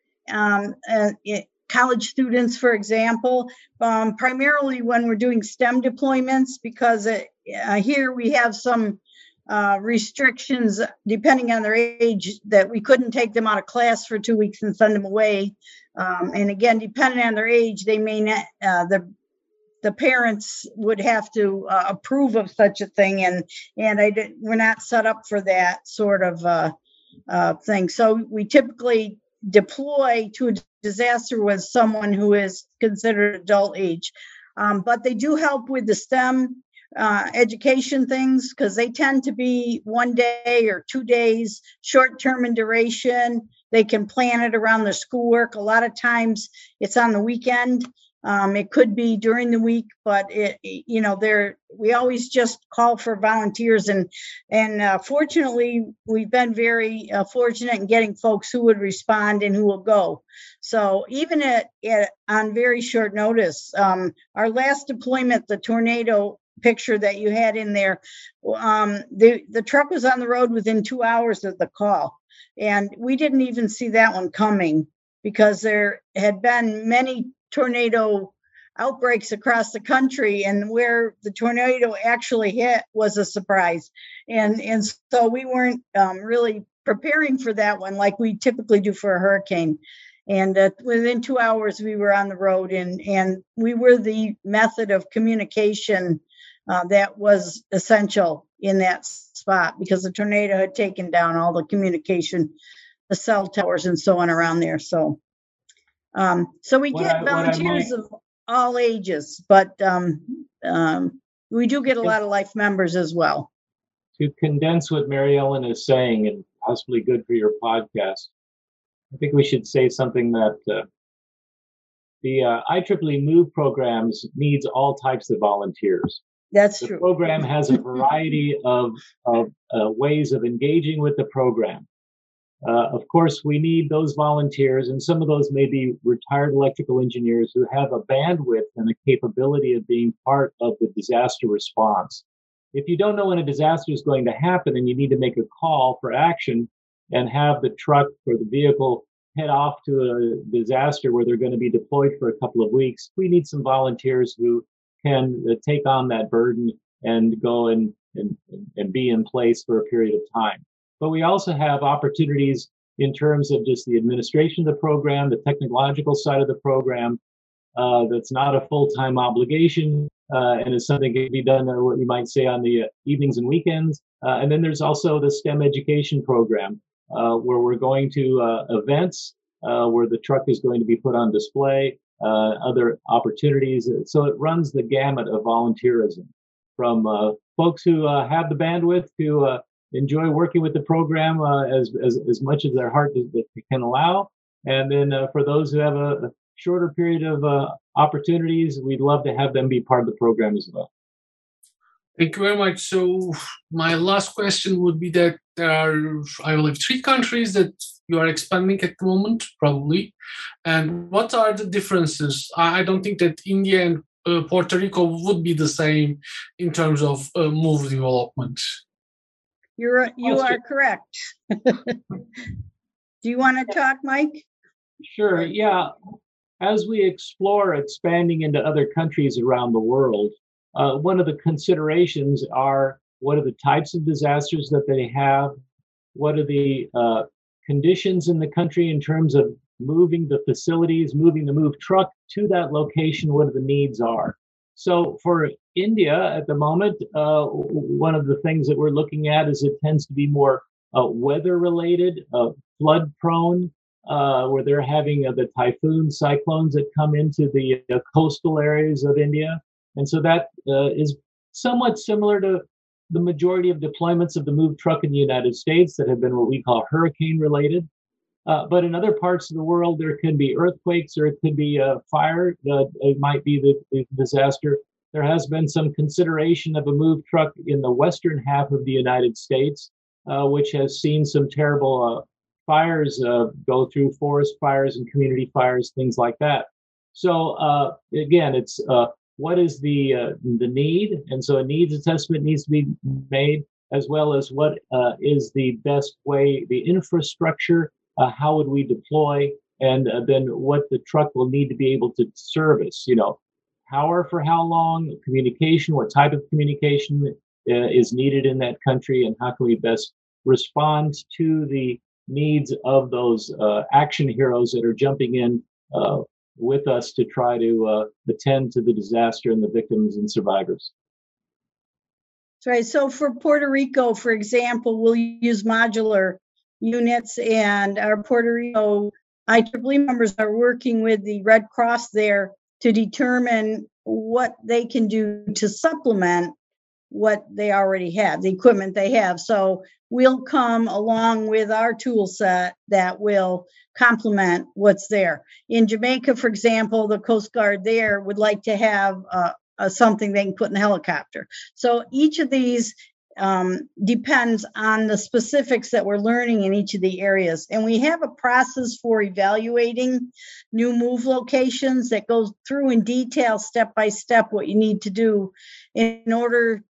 college students, for example, primarily when we're doing STEM deployments, because here we have some restrictions depending on their age, that we couldn't take them out of class for 2 weeks and send them away. And again, depending on their age, they may not, the parents would have to approve of such a thing, and we're not set up for that sort of thing. So we typically deploy to a disaster with someone who is considered adult age, but they do help with the STEM education things, because they tend to be 1 day or 2 days, short-term in duration. They can plan it around their schoolwork. A lot of times it's on the weekend. It could be during the week, but we always just call for volunteers, and fortunately we've been very fortunate in getting folks who would respond and who will go. So even on very short notice, our last deployment, the tornado picture that you had in there, the truck was on the road within 2 hours of the call, and we didn't even see that one coming, because there had been many tornado outbreaks across the country, and where the tornado actually hit was a surprise, and so we weren't really preparing for that one like we typically do for a hurricane. And within 2 hours we were on the road, and we were the method of communication that was essential in that spot, because the tornado had taken down all the communication, the cell towers and so on around there. So we get volunteers of all ages, but we do get a lot of life members as well. To condense what Mary Ellen is saying, and possibly good for your podcast, I think we should say something that the IEEE MOVE programs needs all types of volunteers. That's true. The program has a variety of ways of engaging with the program. Of course, we need those volunteers, and some of those may be retired electrical engineers who have a bandwidth and a capability of being part of the disaster response. If you don't know when a disaster is going to happen and you need to make a call for action and have the truck or the vehicle head off to a disaster where they're going to be deployed for a couple of weeks, we need some volunteers who can take on that burden and go and be in place for a period of time. But we also have opportunities in terms of just the administration of the program, the technological side of the program, that's not a full-time obligation, and is something that can be done, what you might say, on the evenings and weekends. And then there's also the STEM education program, where we're going to events, where the truck is going to be put on display, other opportunities. So it runs the gamut of volunteerism, from folks who have the bandwidth to enjoy working with the program as much as their heart can allow. And then for those who have a shorter period of opportunities, we'd love to have them be part of the program as well. Thank you very much. So my last question would be that there are, I believe, 3 countries that you are expanding at the moment, probably. And what are the differences? I don't think that India and Puerto Rico would be the same in terms of move development. You are correct. Do you want to talk, Mike? Sure. Yeah. As we explore expanding into other countries around the world, one of the considerations are what are the types of disasters that they have? What are the conditions in the country in terms of moving the facilities, moving the move truck to that location, what the needs are. So for India at the moment, one of the things that we're looking at is it tends to be more weather related, flood prone, where they're having the typhoon cyclones that come into the coastal areas of India. And so that is somewhat similar to the majority of deployments of the move truck in the United States that have been what we call hurricane related. But in other parts of the world, there can be earthquakes or it could be fire. It might be the disaster. There has been some consideration of a move truck in the western half of the United States, which has seen some terrible fires go through, forest fires and community fires, things like that. So again, it's what is the need? And so a needs assessment needs to be made, as well as what is the best way, the infrastructure, how would we deploy, and then what the truck will need to be able to service, power for how long, communication, what type of communication is needed in that country, and how can we best respond to the needs of those action heroes that are jumping in with us to try to attend to the disaster and the victims and survivors. That's right. So for Puerto Rico, for example, we'll use modular units, and our Puerto Rico IEEE members are working with the Red Cross there to determine what they can do to supplement what they already have, the equipment they have. So we'll come along with our tool set that will complement what's there. In Jamaica, for example, the Coast Guard there would like to have something they can put in the helicopter. So each of these depends on the specifics that we're learning in each of the areas. And we have a process for evaluating new move locations that goes through in detail, step by step, what you need to do in order,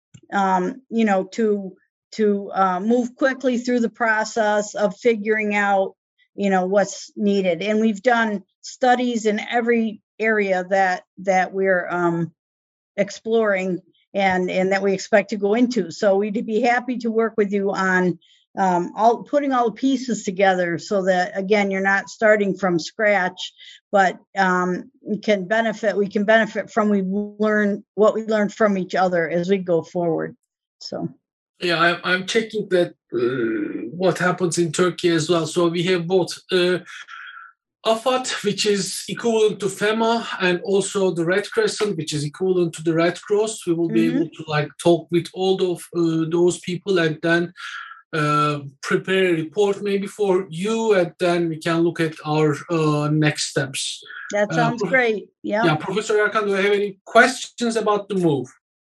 to move quickly through the process of figuring out, what's needed. And we've done studies in every area that we're exploring and that we expect to go into. So we'd be happy to work with you on putting all the pieces together so that, again, you're not starting from scratch, but we can benefit from what we learned from each other as we go forward. So yeah, I'm checking that what happens in Turkey as well. So we have both AFAD, which is equivalent to FEMA, and also the Red Crescent, which is equivalent to the Red Cross. We will be able to talk with all of those people and then prepare a report maybe for you, and then we can look at our next steps. That sounds great. Yeah, Professor Erkan, do you have any questions about the move?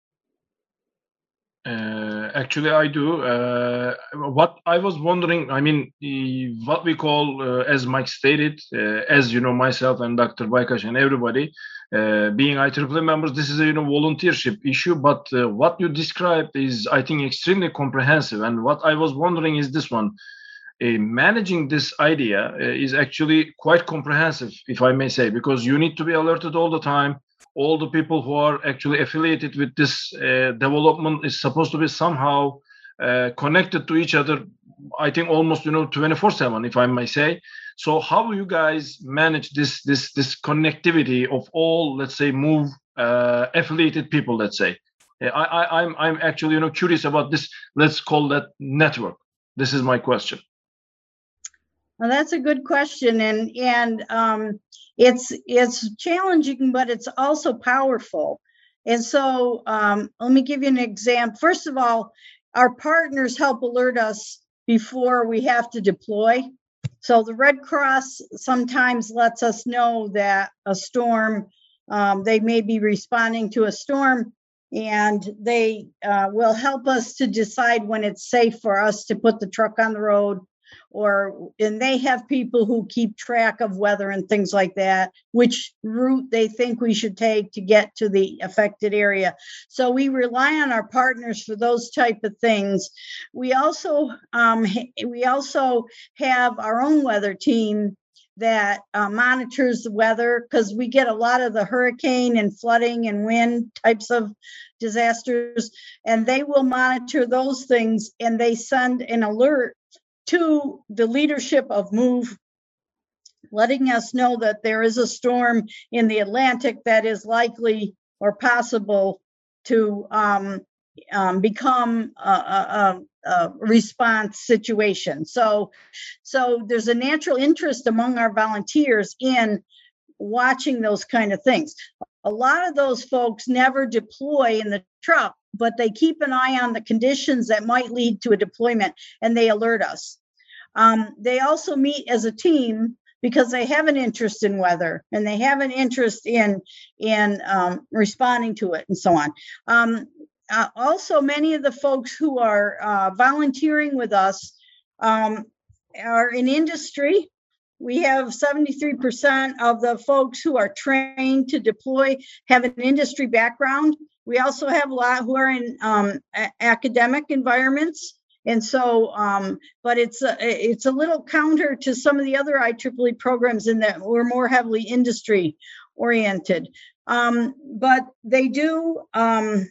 Actually, I do. What I was wondering, what we call, as Mike stated, as you know, myself and Dr. Baykash and everybody, being IEEE members, this is a volunteership issue. But what you described is, I think, extremely comprehensive. And what I was wondering is this one: managing this idea is actually quite comprehensive, if I may say, because you need to be alerted all the time. All the people who are actually affiliated with this development is supposed to be somehow connected to each other, I think almost 24/7, if I may say. So how do you guys manage this connectivity of all, let's say, move affiliated people, let's say? I'm actually curious about this, let's call that network. This is my question. Well, that's a good question, and it's challenging, but it's also powerful. And so let me give you an example. First of all, our partners help alert us before we have to deploy. So the Red Cross sometimes lets us know that a storm, they may be responding to a storm, and they will help us to decide when it's safe for us to put the truck on the road, and they have people who keep track of weather and things like that, which route they think we should take to get to the affected area. So we rely on our partners for those type of things. We also have our own weather team that monitors the weather, because we get a lot of the hurricane and flooding and wind types of disasters, and they will monitor those things, and they send an alert to the leadership of MOVE, letting us know that there is a storm in the Atlantic that is likely or possible to become a response situation. So there's a natural interest among our volunteers in watching those kind of things. A lot of those folks never deploy in the truck, but they keep an eye on the conditions that might lead to a deployment, and they alert us. They also meet as a team because they have an interest in weather, and they have an interest in responding to it and so on. Also, many of the folks who are volunteering with us are in industry. We have 73% of the folks who are trained to deploy have an industry background. We also have a lot who are in academic environments. And so, but it's a little counter to some of the other IEEE programs in that we're more heavily industry oriented. But they do have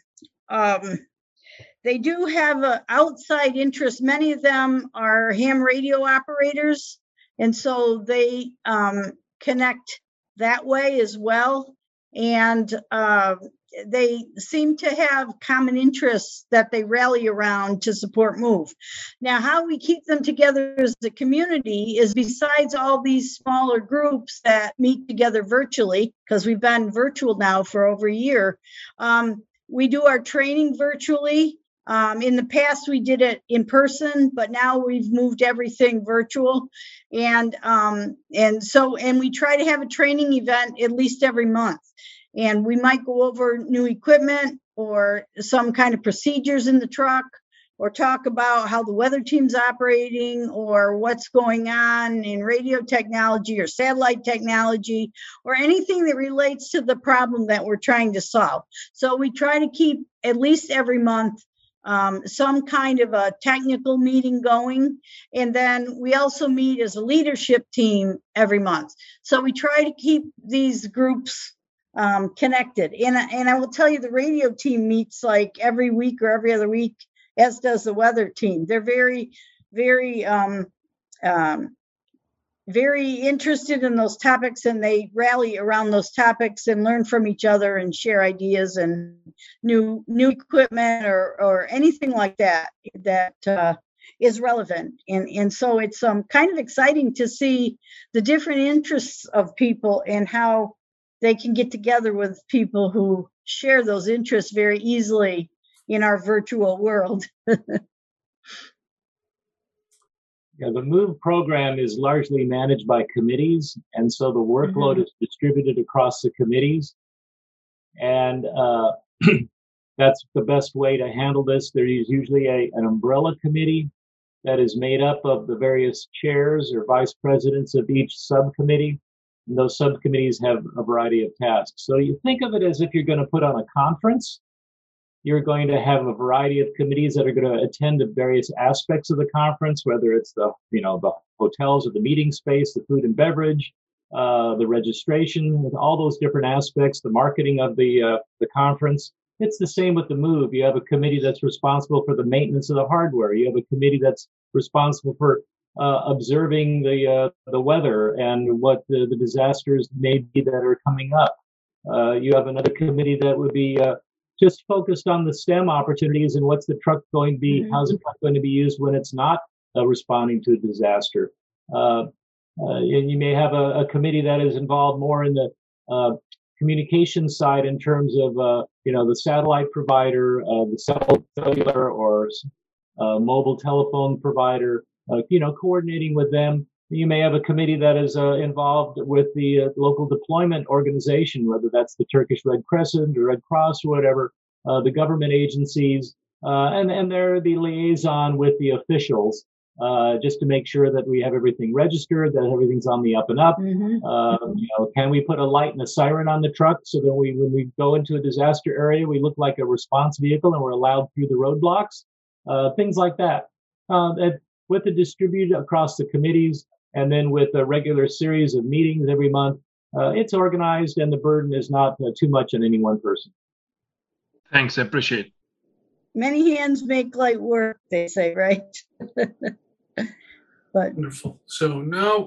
an outside interest. Many of them are ham radio operators, and so they connect that way as well. And they seem to have common interests that they rally around to support MOVE. Now, how we keep them together as a community is, besides all these smaller groups that meet together virtually, because we've been virtual now for over a year, we do our training virtually. In the past, we did it in person, but now we've moved everything virtual. And we try to have a training event at least every month. And we might go over new equipment or some kind of procedures in the truck, or talk about how the weather team's operating, or what's going on in radio technology or satellite technology, or anything that relates to the problem that we're trying to solve. So we try to keep at least every month some kind of a technical meeting going. And then we also meet as a leadership team every month. So we try to keep these groups connected. And I will tell you, the radio team meets like every week or every other week, as does the weather team. They're very, very, very interested in those topics, and they rally around those topics and learn from each other and share ideas and new equipment or anything like that is relevant. And so it's kind of exciting to see the different interests of people and how they can get together with people who share those interests very easily in our virtual world. Yeah, the MOVE program is largely managed by committees, and so the workload is distributed across the committees. And that's the best way to handle this. There is usually an umbrella committee that is made up of the various chairs or vice presidents of each subcommittee. And those subcommittees have a variety of tasks. So you think of it as if you're going to put on a conference. You're going to have a variety of committees that are going to attend to various aspects of the conference, whether it's the hotels or the meeting space, the food and beverage, the registration, all those different aspects, the marketing of the conference. It's the same with the MOVE. You have a committee that's responsible for the maintenance of the hardware. You have a committee that's responsible for observing the weather and what the disasters may be that are coming up. You have another committee that would be just focused on the STEM opportunities and what's the truck going to be, how's the truck going to be used when it's not responding to a disaster. And you may have a committee that is involved more in the communication side in terms of the satellite provider, the cellular or mobile telephone provider, coordinating with them. You may have a committee that is involved with the local deployment organization, whether that's the Turkish Red Crescent or Red Cross or whatever, the government agencies, and they're the liaison with the officials. just to make sure that we have everything registered, that everything's on the up and up. Can we put a light and a siren on the truck so that when we go into a disaster area, we look like a response vehicle and we're allowed through the roadblocks? Things like that. With the distributed across the committees, and then with a regular series of meetings every month, it's organized and the burden is not too much on any one person. Thanks, I appreciate it. Many hands make light work, they say, right? But wonderful. So now,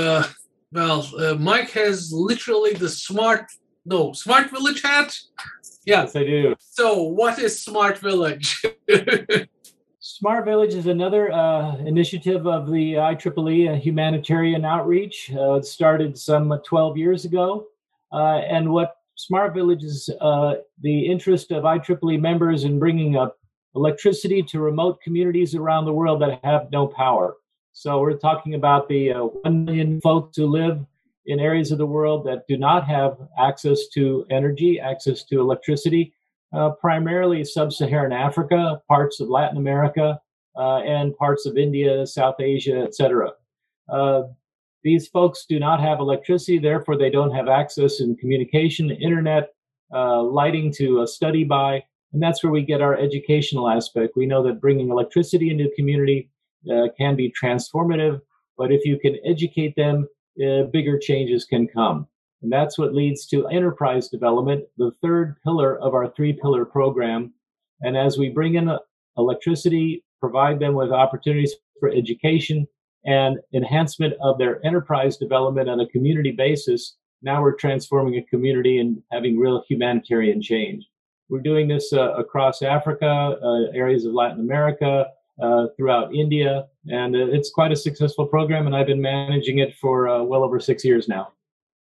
Mike has literally the Smart Village hat. Yeah. Yes, I do. So what is Smart Village? Smart Village is another initiative of the IEEE humanitarian outreach. It started some 12 years ago. And what Smart Village is the interest of IEEE members in bringing up electricity to remote communities around the world that have no power. So we're talking about the 1 million folks who live in areas of the world that do not have access to energy, access to electricity, primarily sub-Saharan Africa, parts of Latin America, and parts of India, South Asia, etc. These folks do not have electricity, therefore they don't have access in communication, internet, lighting to study by, and that's where we get our educational aspect. We know that bringing electricity into a community can be transformative, but if you can educate them, bigger changes can come. And that's what leads to enterprise development, the third pillar of our three-pillar program. And as we bring in electricity, provide them with opportunities for education and enhancement of their enterprise development on a community basis, now we're transforming a community and having real humanitarian change. We're doing this across Africa, areas of Latin America, throughout India, and it's quite a successful program, and I've been managing it for well over 6 years now.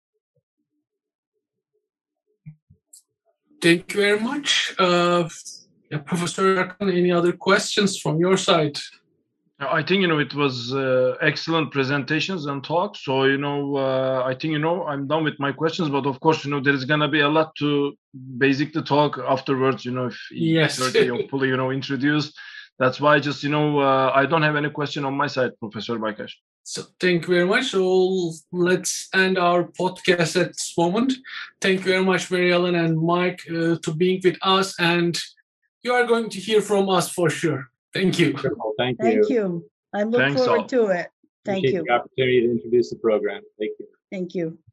Thank you very much. Professor Erkan, any other questions from your side? I think, it was excellent presentations and talks. So, I think, I'm done with my questions. But of course, there is going to be a lot to basically talk afterwards, if yes. fully, introduced. That's why just, I don't have any question on my side, Professor Baykash. So thank you very much. So let's end our podcast at this moment. Thank you very much, Mary Ellen and Mike, to being with us. And you are going to hear from us for sure. Thank you. Thank you. Thank you. I look forward to it. Thank you. Appreciate the opportunity to introduce the program. Thank you. Thank you.